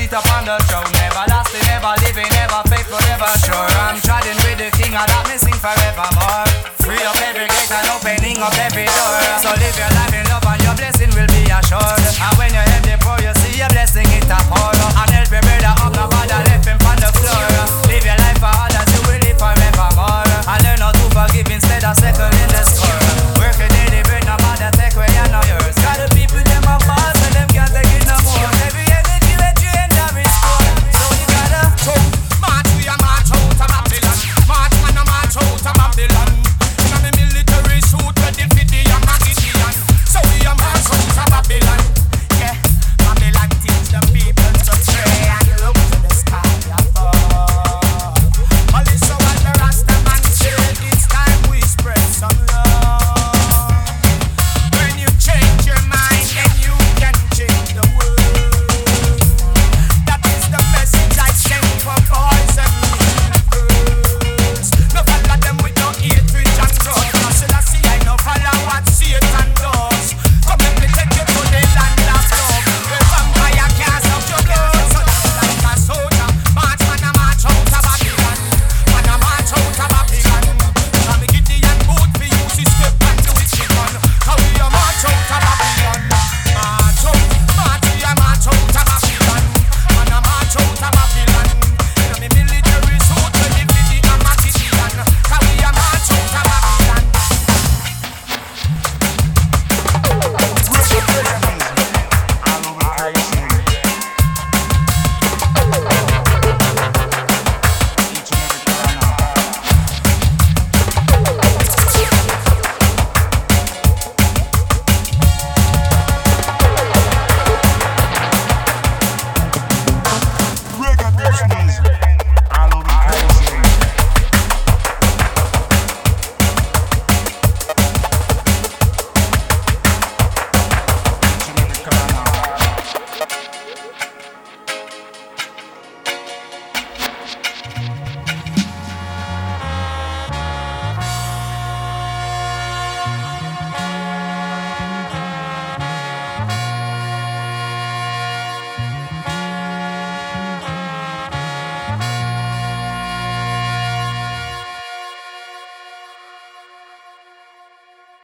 sit upon the throne. Never lasting, never living, never faithful, never sure. I'm treading with the king and that me sing forevermore. Free up every gate and opening up every door. So live your life in love and your blessing will be assured. And when you have the poor, you see your blessing it upon.